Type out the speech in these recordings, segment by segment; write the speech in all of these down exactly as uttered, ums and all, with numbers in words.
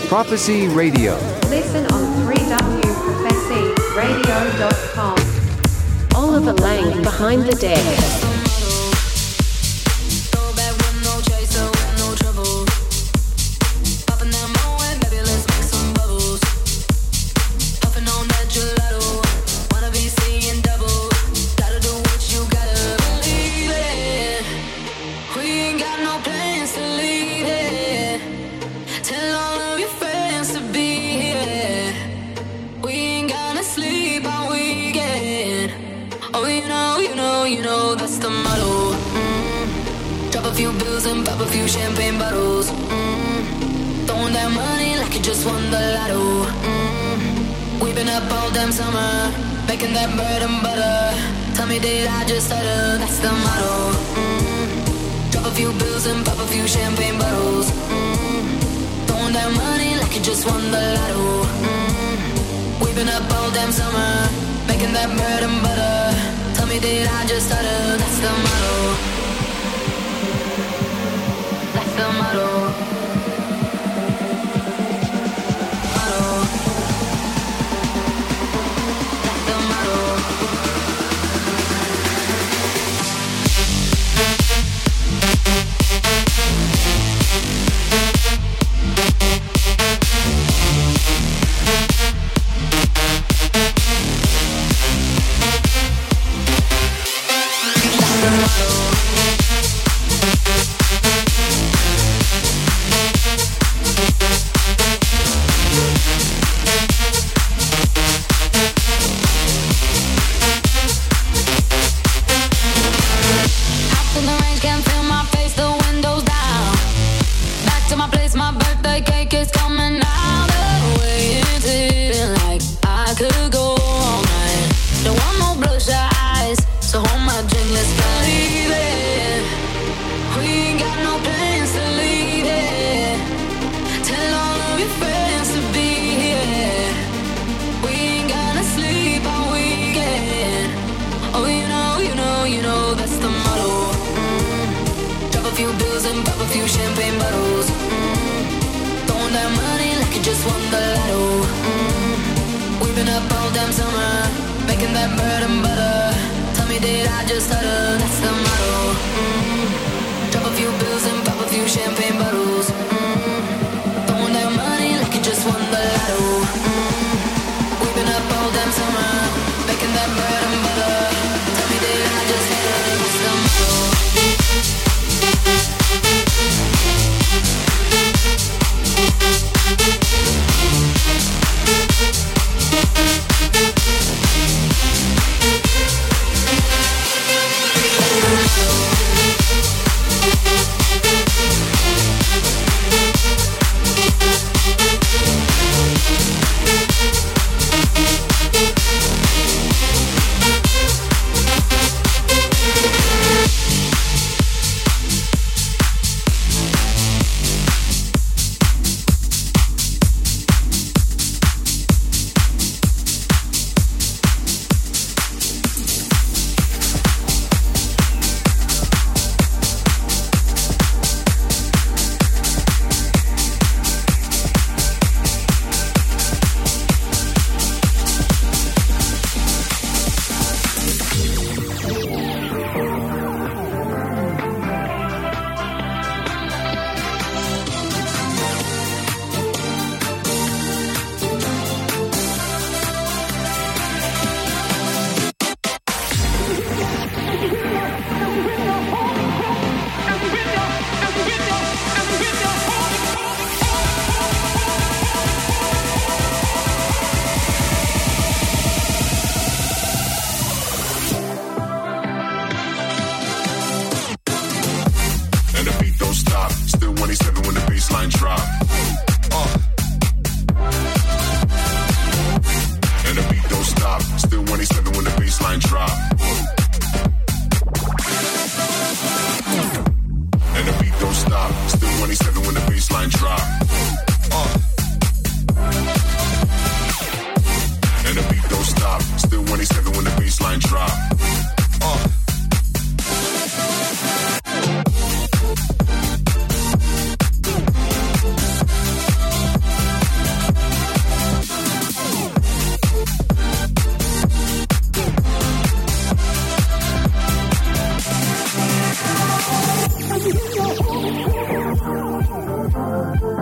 Prophecy Radio. Listen on three w prophecy radio dot com. Oliver Lang behind the deck. Pop a few champagne bottles, mm. Throwing that money like you just won the lotto, mm. We've been up all damn summer, making that bread and butter. Tell me, did I just stutter? That's the motto, mm. Drop a few bills and pop a few champagne bottles, mm. Throwing that money like you just won the lotto, mm. We've been up all damn summer, making that bread and butter. Tell me, did I just stutter? That's the motto. The motto.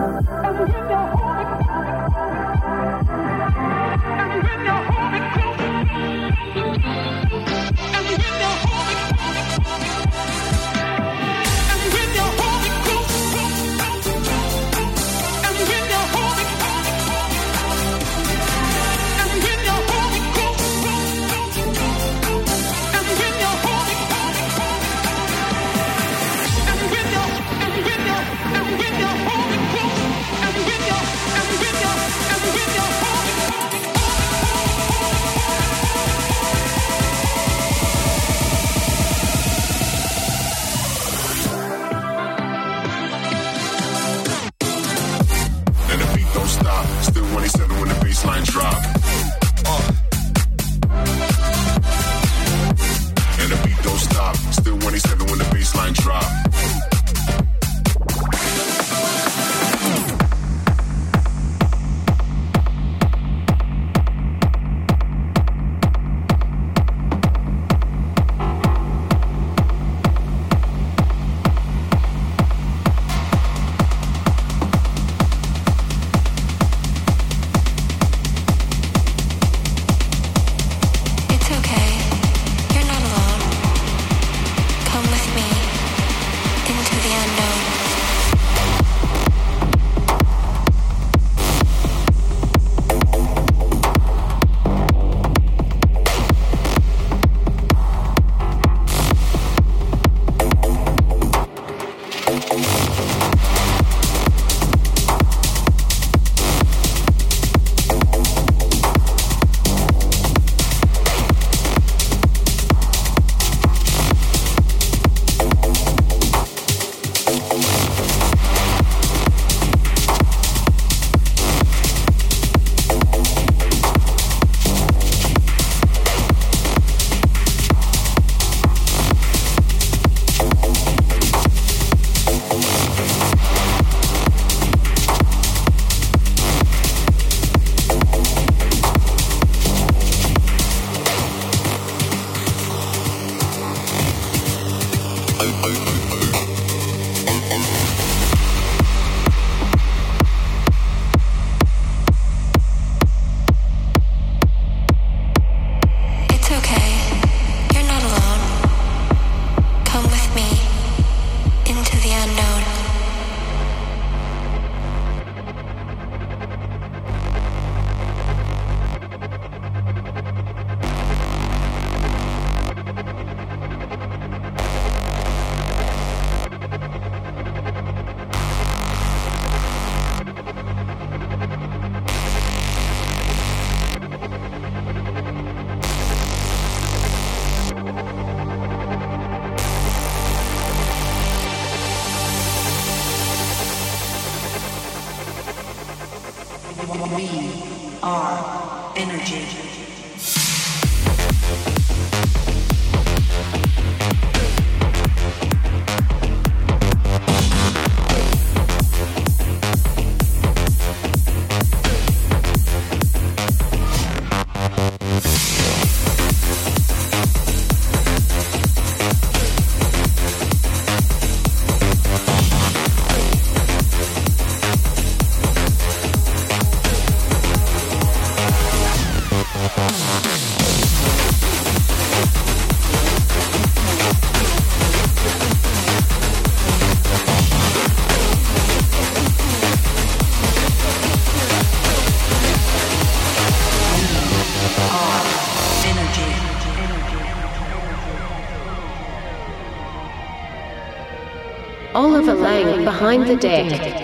Oliver Lang behind the deck.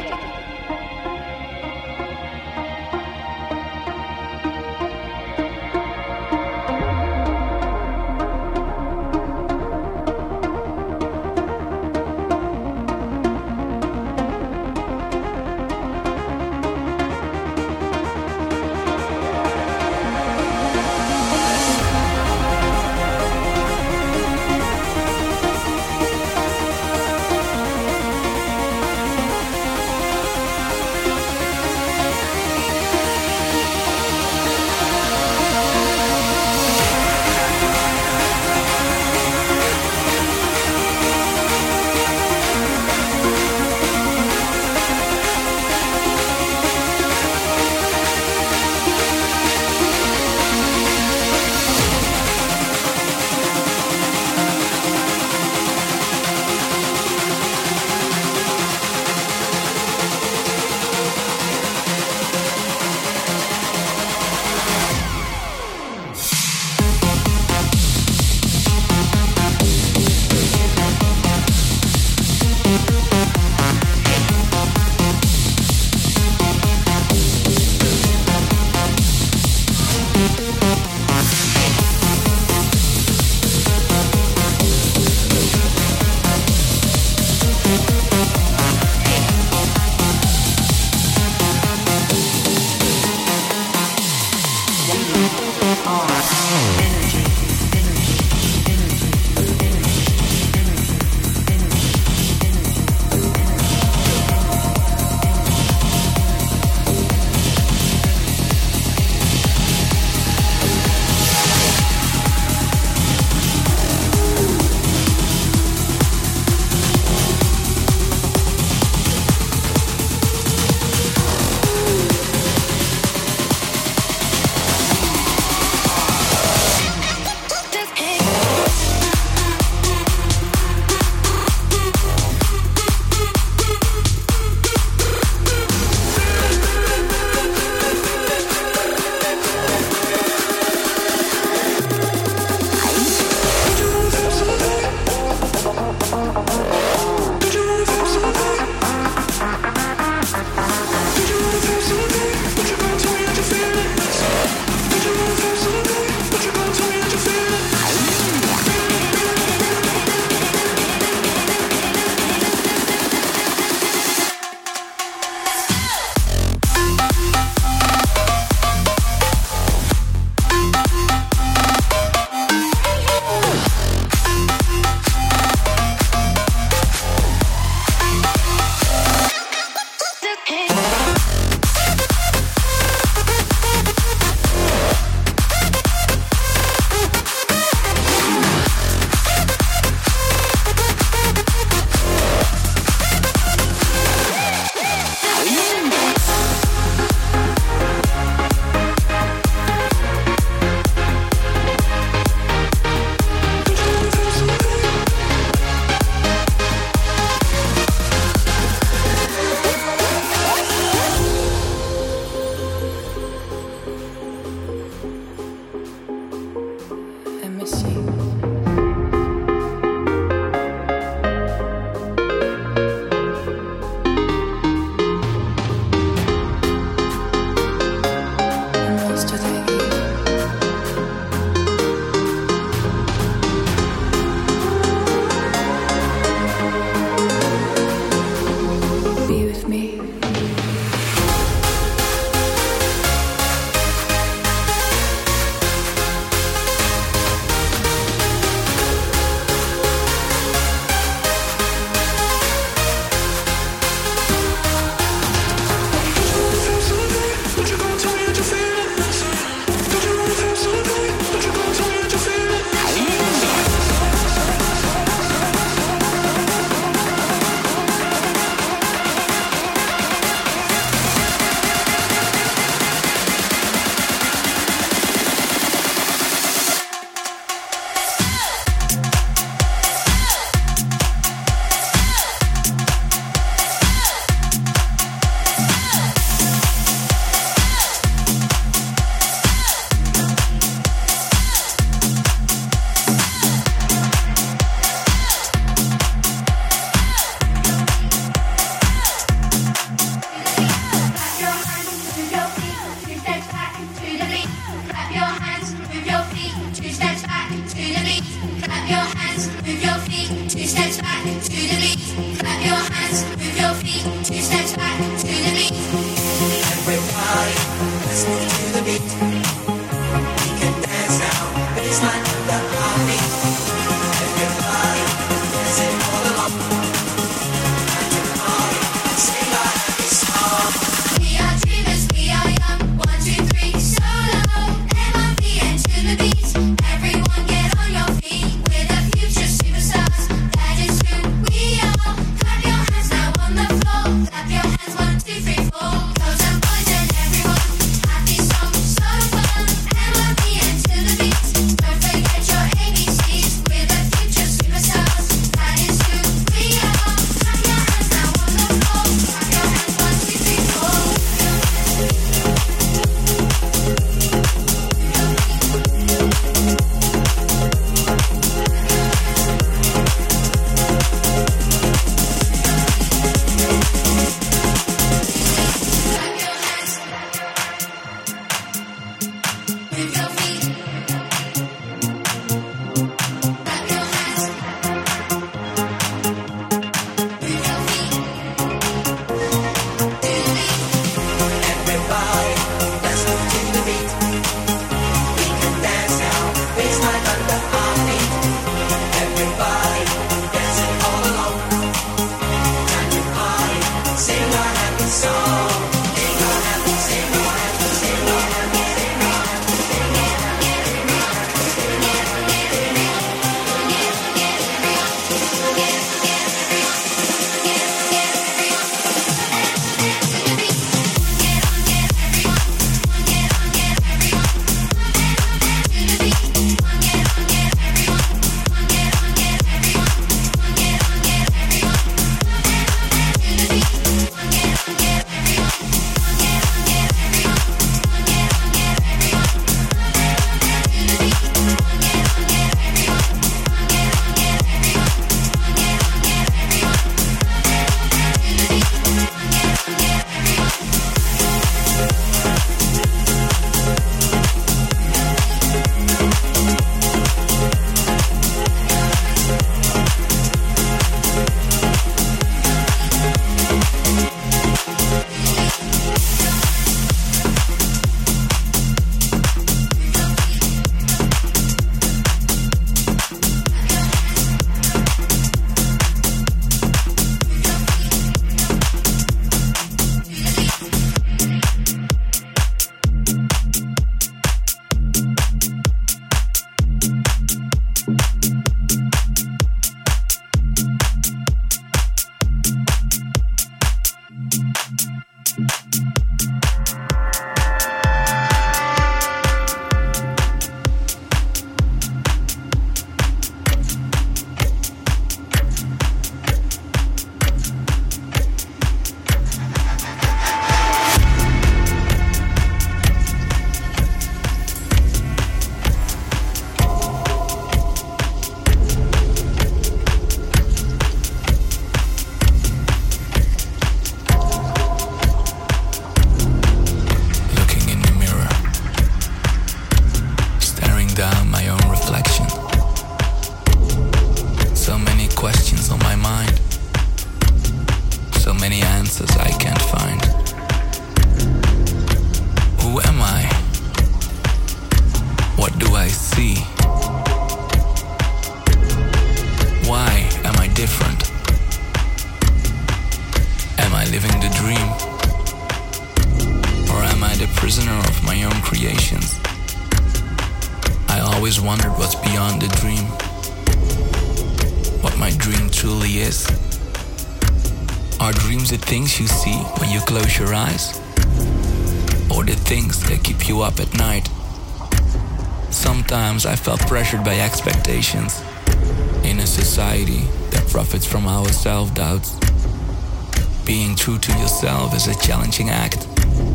prisoner of my own creations. I always wondered what's beyond the dream, what my dream truly is. Are dreams the things you see when you close your eyes? Or the things that keep you up at night? Sometimes I felt pressured by expectations in a society that profits from our self-doubts. Being true to yourself is a challenging act.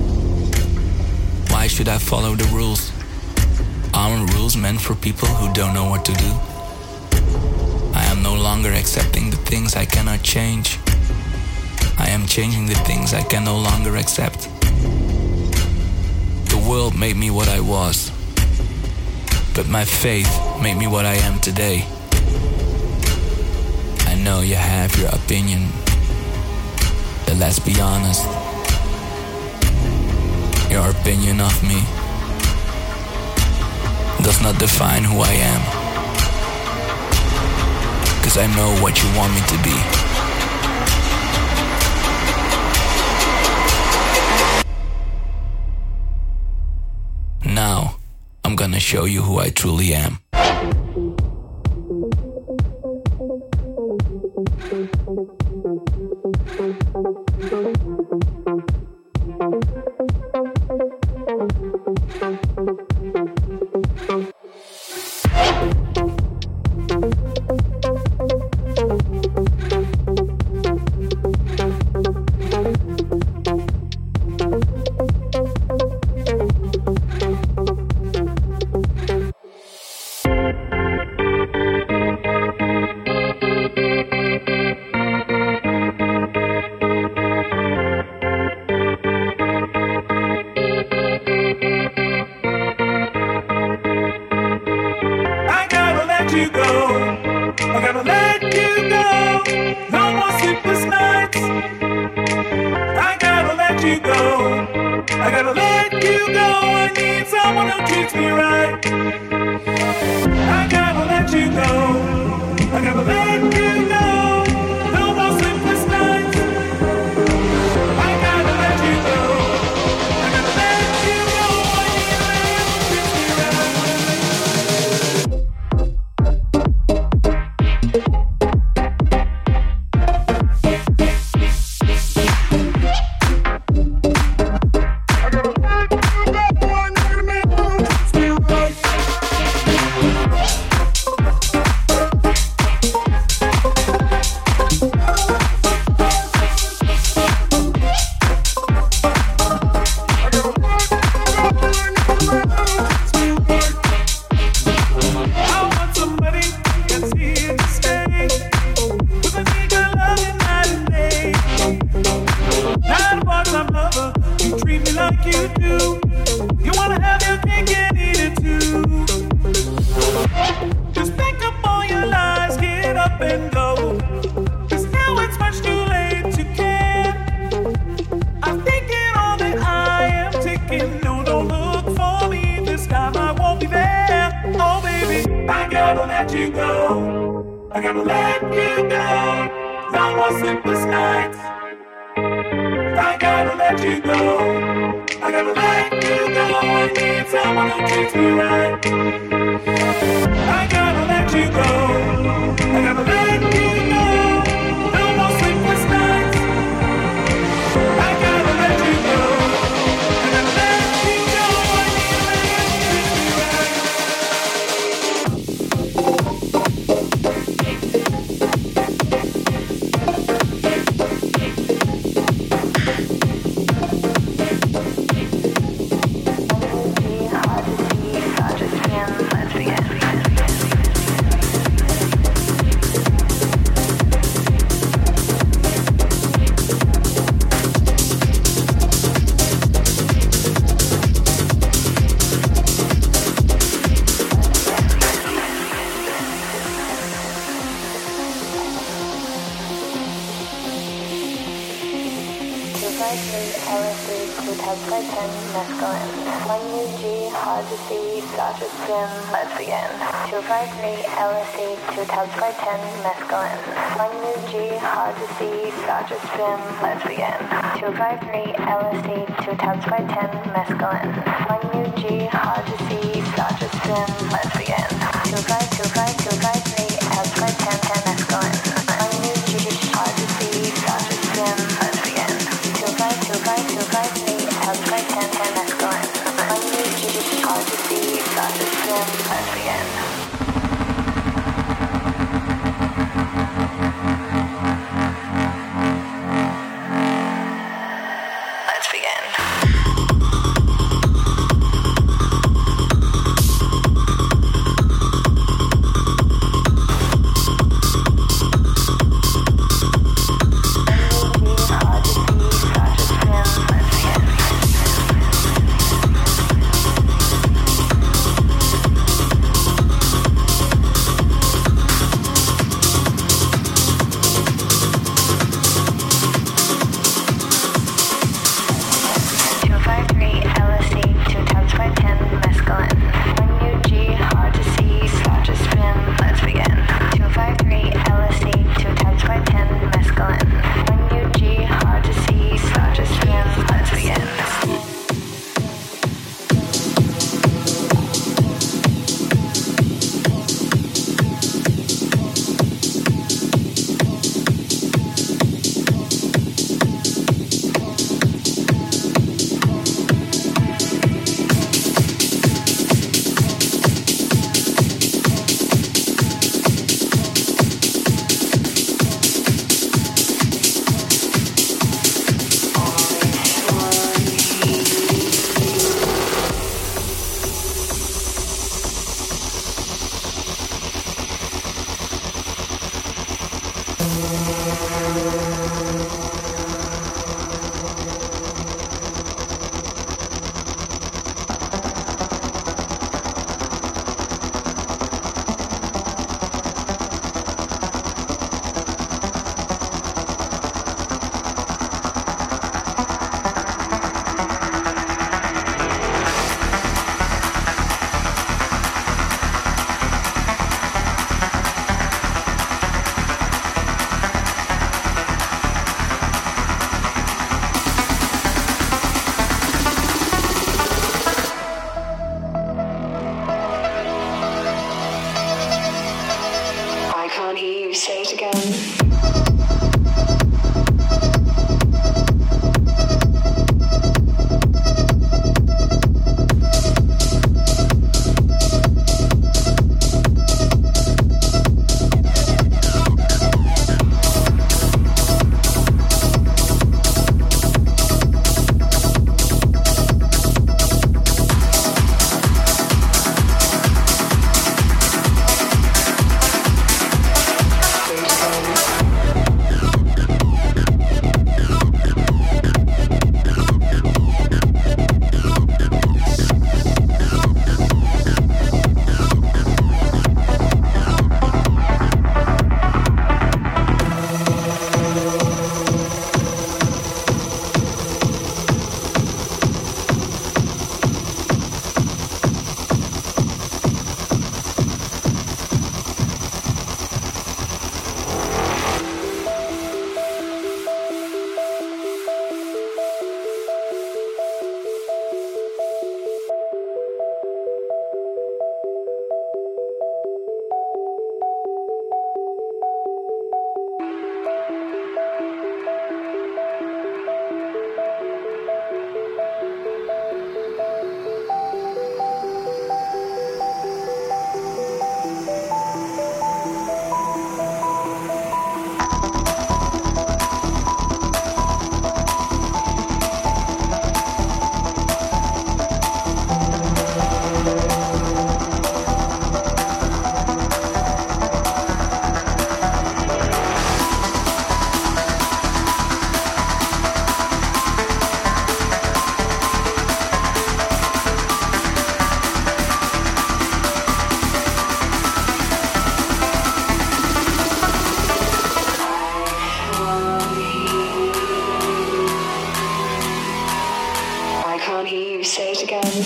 Why should I follow the rules? Aren't rules meant for people who don't know what to do? I am no longer accepting the things I cannot change. I am changing the things I can no longer accept. The world made me what I was, but my faith made me what I am today. I know you have your opinion, but let's be honest. Your opinion of me does not define who I am, 'cause I know what you want me to be. Now, I'm gonna show you who I truly am. Let's begin. times by ten, mescaline. one U G, hard to see, start to spin, let's begin. two five three, L S D, two times by ten, mescaline. one U G, hard to see, start to spin, let's begin. two five three, L S D, two times by ten, mescaline. one U G, hard to see, start to spin, let's begin. two five two five two five three, times by ten, ten, mescaline. one U G, hard to see, start to spin, let's begin. two five two five two five three, times by ten, ten, mescaline. one U G, hard to see, start to spin, let's begin. Let's begin. you, say it again.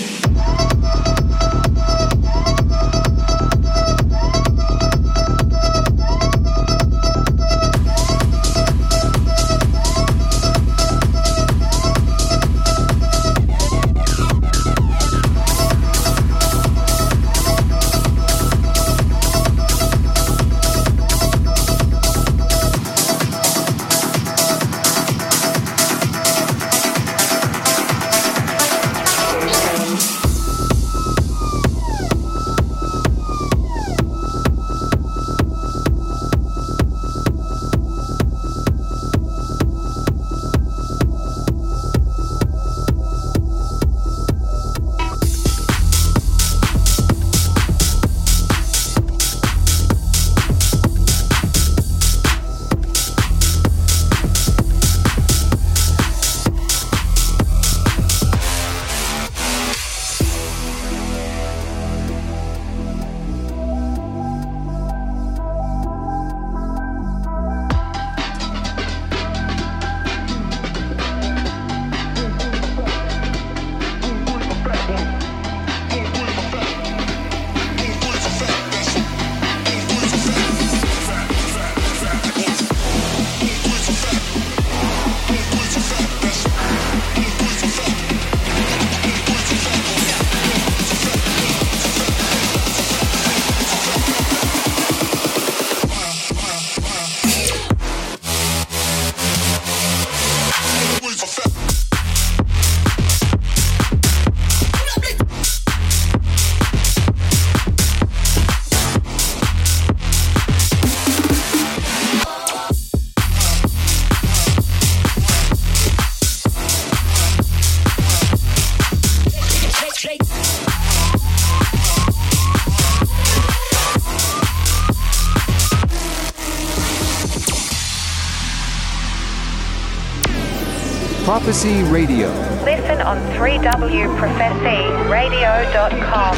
Prophecy Radio. Listen on three w prophecy radio dot com.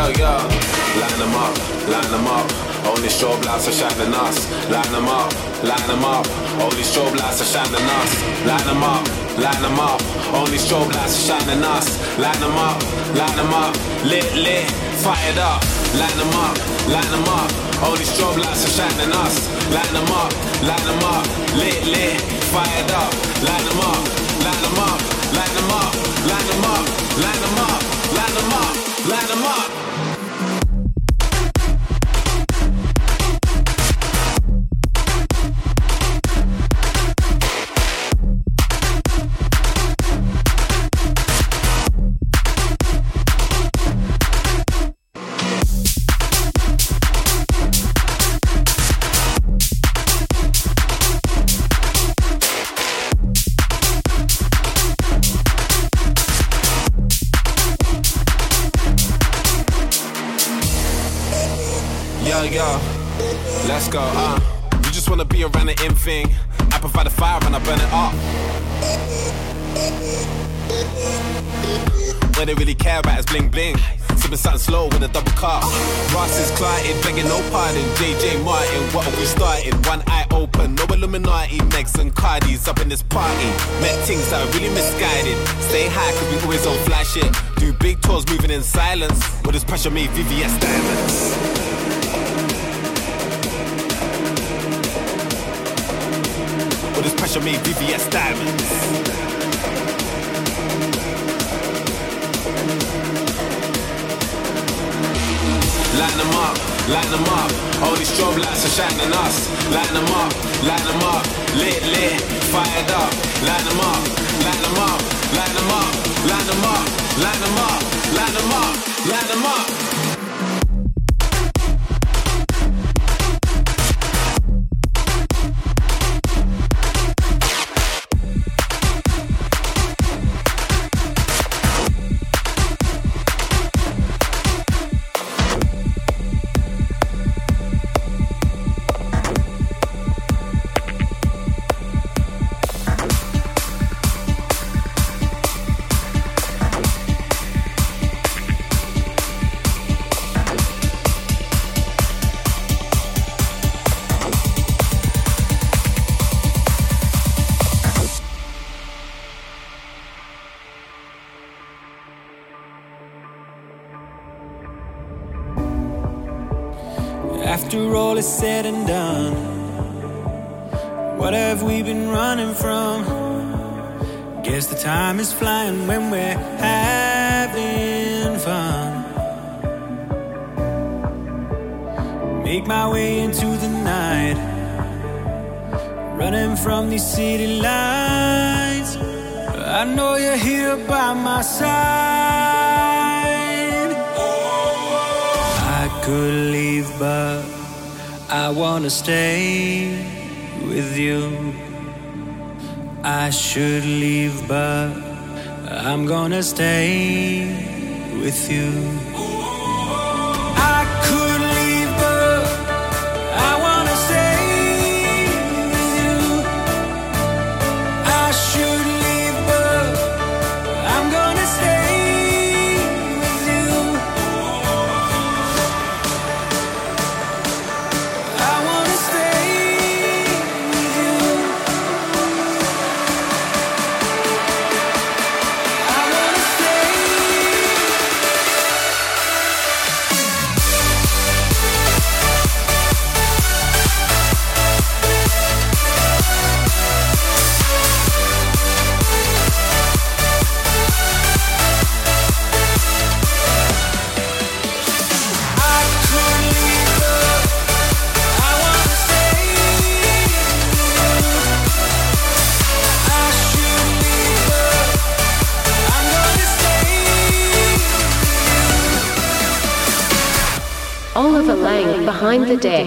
Yo, yo, line them up, line them up. Only strobe lights are shining us. Line them up, line them up. Only strobe lights are shining us. Line them up, line them up. Only strobe lights are shining us. Line them up, line them up. Lit, lit, fired up. Line them up, line them up. Only strobe lights are shining us. Line them up, line them up. Lit, lit, fired up. Line them up, line them up. Line them up, line them up. Line them up, line them up. Line them up. Yo, let's go, uh you just wanna be around the in thing. I provide the fire and I burn it up. What they really care about is bling bling. Sipping something slow with a double cup. Ross is clotted, begging no pardon. J J Martin, what have we started? One eye open, no Illuminati. Megs and Cardis up in this party. Met things that are really misguided. Stay high cause we always on fly shit. Do big tours moving in silence. With this pressure made V V S diamonds. This pressure made V V S diamonds. Line them up, line them up. All these strobe lights are shining us. Line them up, line them up. Lit, lit, fired up. Line them up, line them up. Line them up, line them up. Line them up, line them up. Line them up. After all is said and done, what have we been running from? Guess the time is flying when we're having fun. Make my way into the night, running from these city lights. I know you're here by my side. I could leave, but I wanna stay with you. I should leave, but I'm gonna stay with you. I could leave, but I wanna stay with you. I should leave, but I'm gonna stay with you. I wanna stay with you. I wanna stay. I could leave, but I wanna stay with you. I should leave, but I'm gonna stay with you. Oliver Lang behind the deck.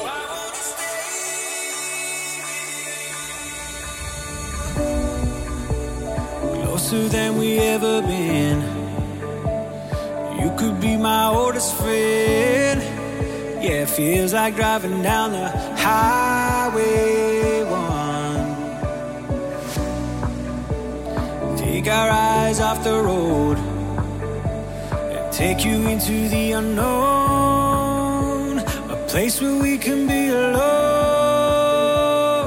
Closer than we ever been. You could be my oldest friend. Yeah, it feels like driving down the highway one. Take our eyes off the road and take you into the unknown, a place where we can be alone.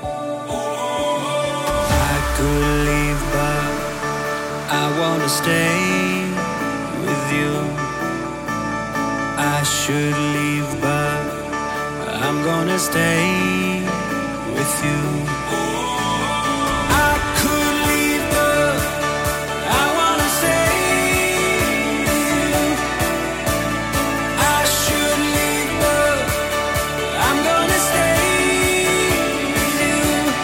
I could leave, but I wanna stay with you. I should leave, but I'm gonna stay with you. I could leave, but I wanna stay with you. I should leave, but I'm gonna stay with you.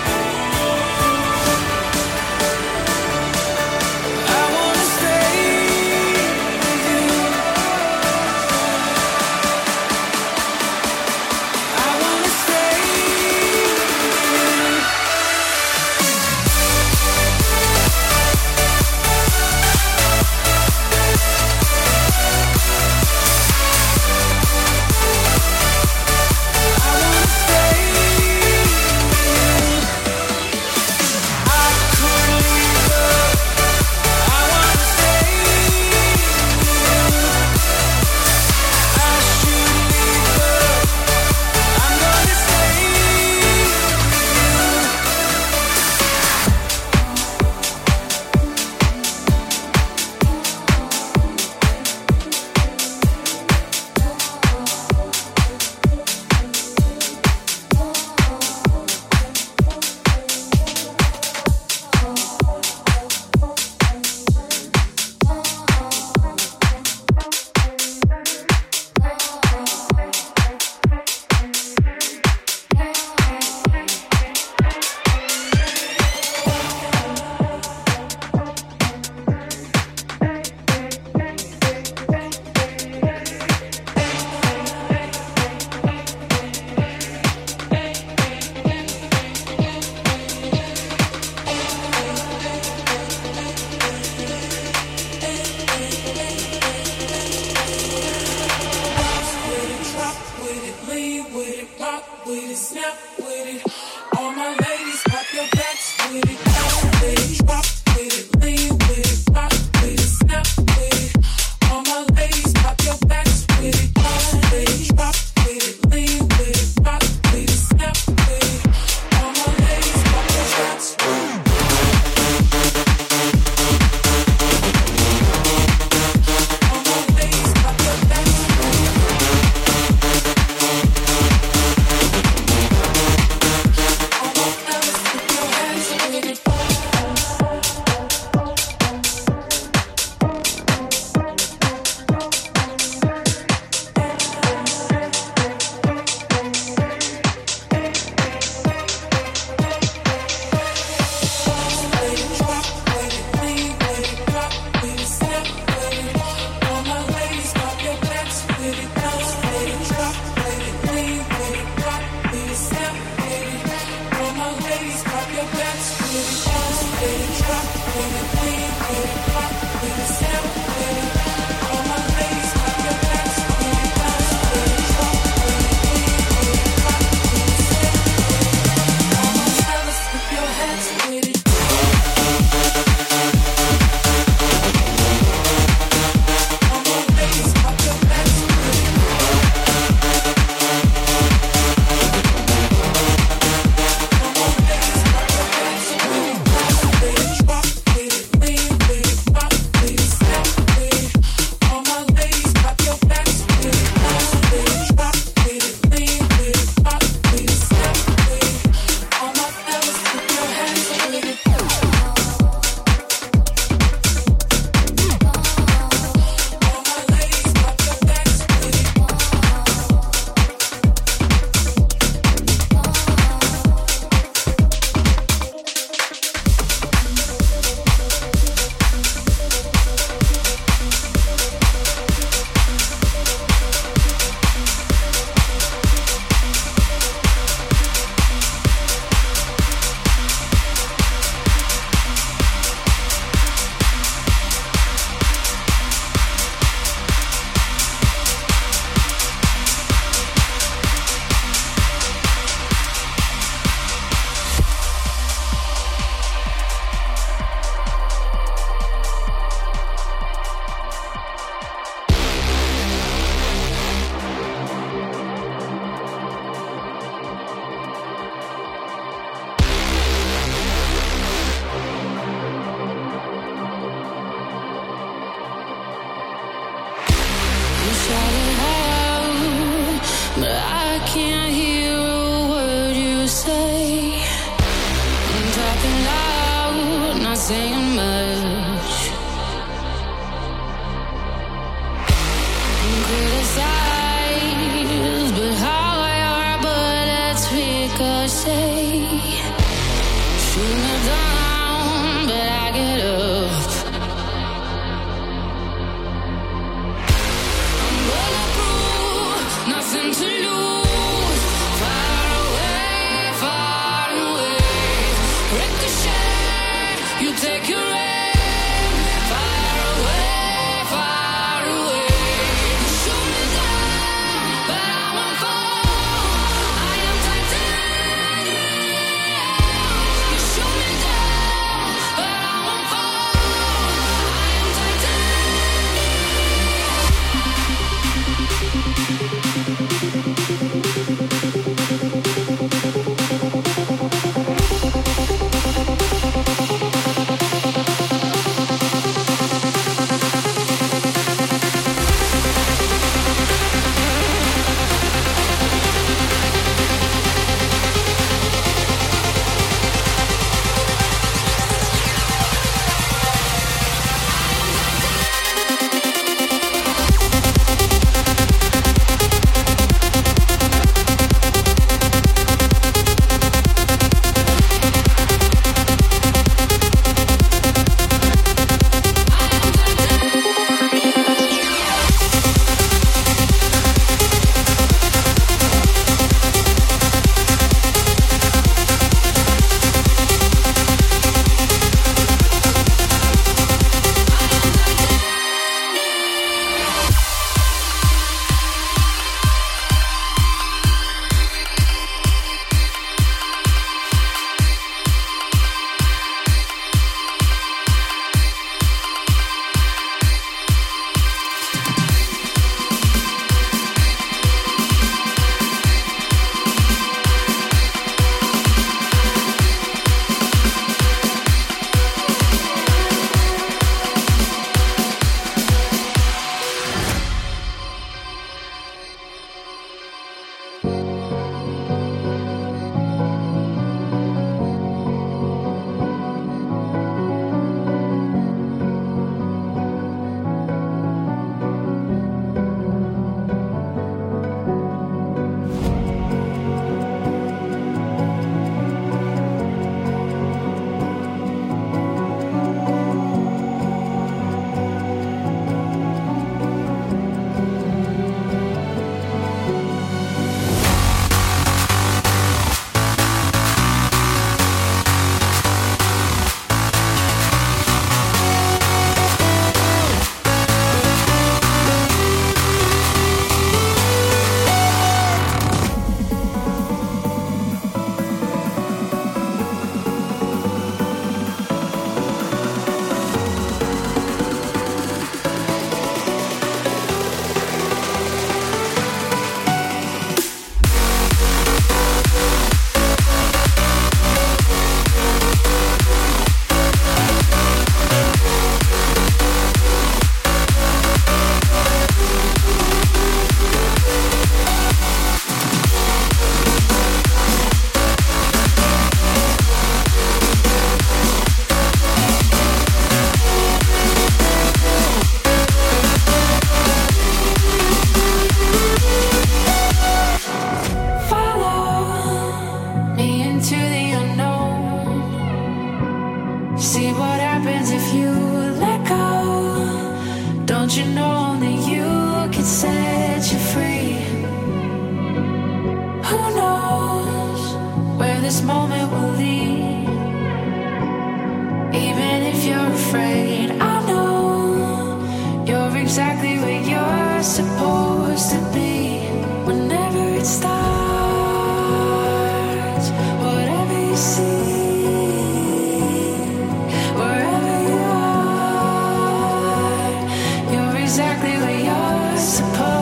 I wanna stay with you. I wanna stay with you. saying much. Criticize, but how your bullets ricochet. Shoot me down, but I get up. I'm bulletproof, nothing to lose. Far away, far away. Ricochet, you take your aim. Far away, far away. You shoot me down, but I won't fall. I am titanium. You shoot me down, but I won't fall. I am Exactly where you're supposed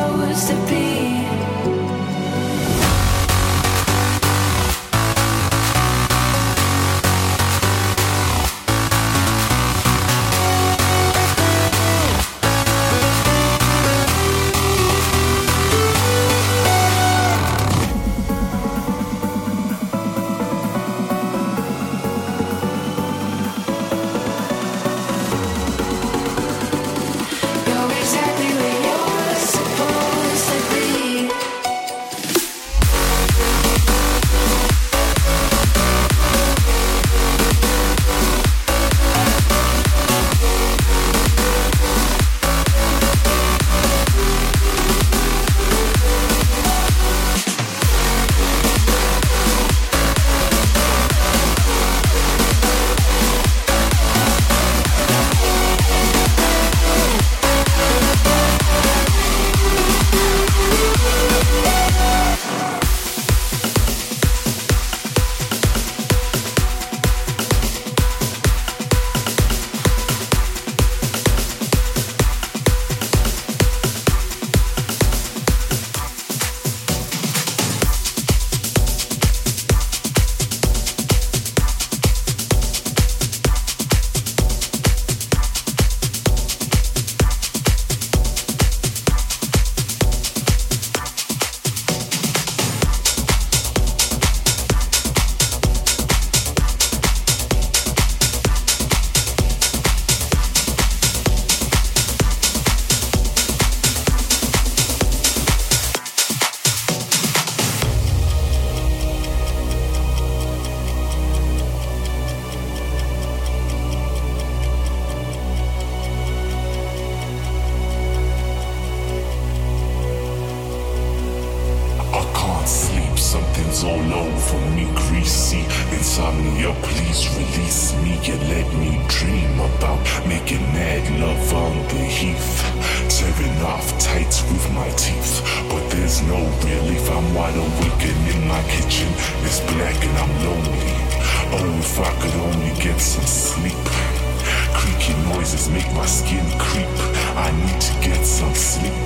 off tight with my teeth, but there's no relief. I'm wide awake and in my kitchen it's black and I'm lonely. Oh, if I could only get some sleep. Creaky noises make my skin creep. I need to get some sleep.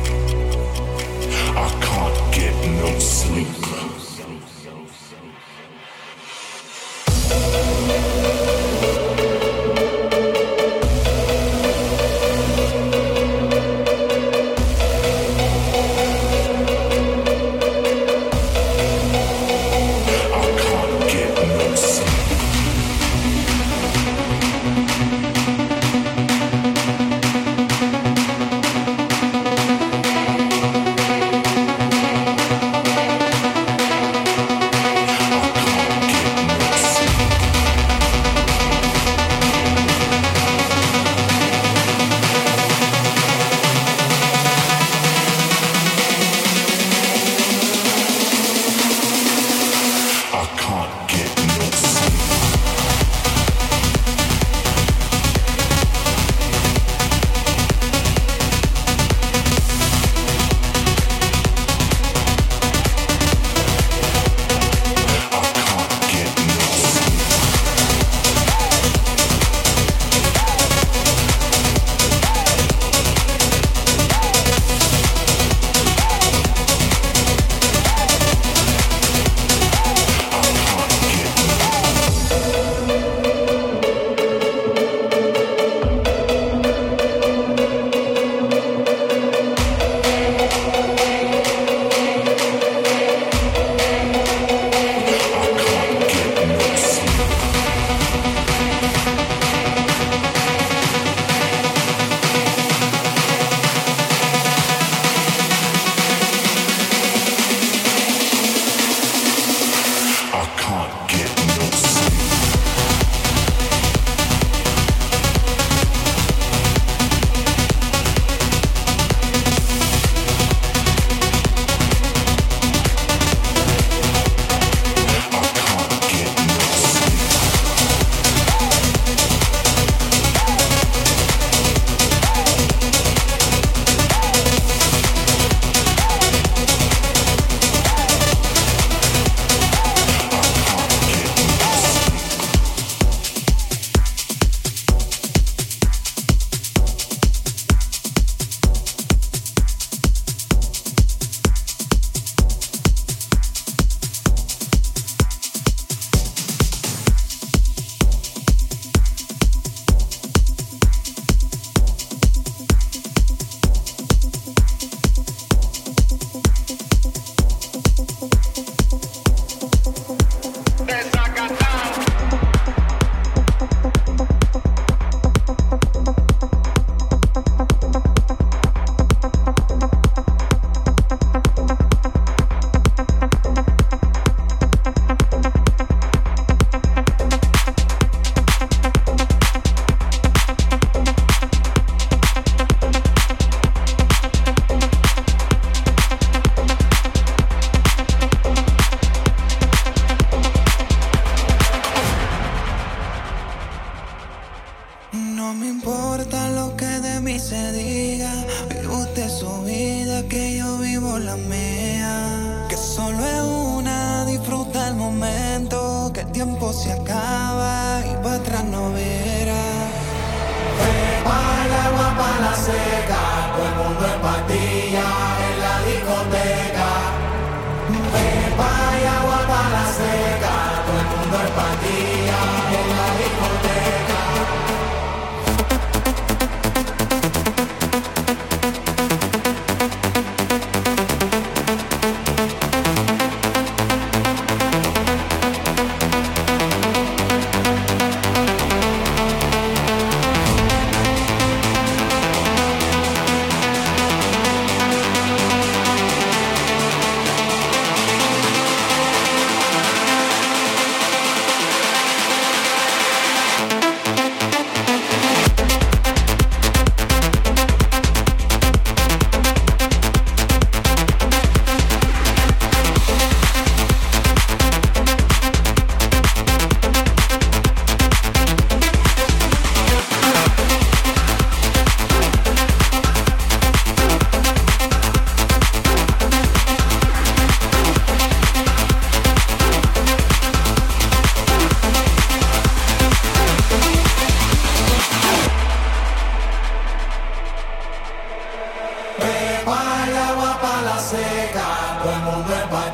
I can't get no sleep.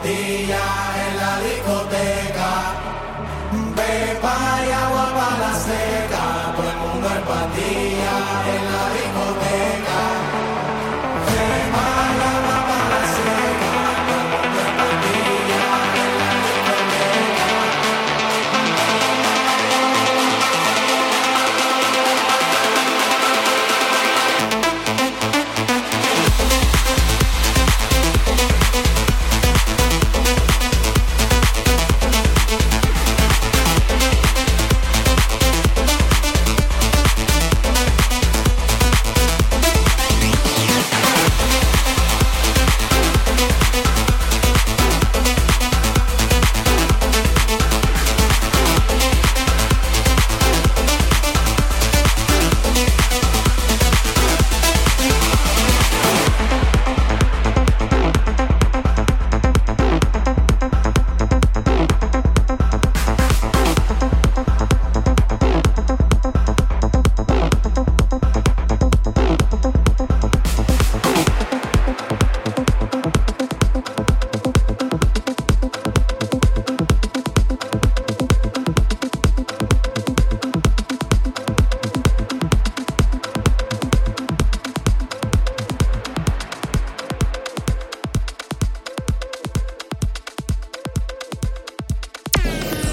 pastilla en la discoteca. Pepa y agua para la seca. Todo el mundo en pastilla en la discoteca. Pepa y agua para la seca. Todo el mundo en pastilla en la discoteca.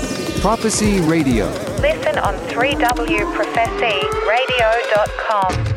Prophecy Radio. Listen on three w prophecy radio dot com.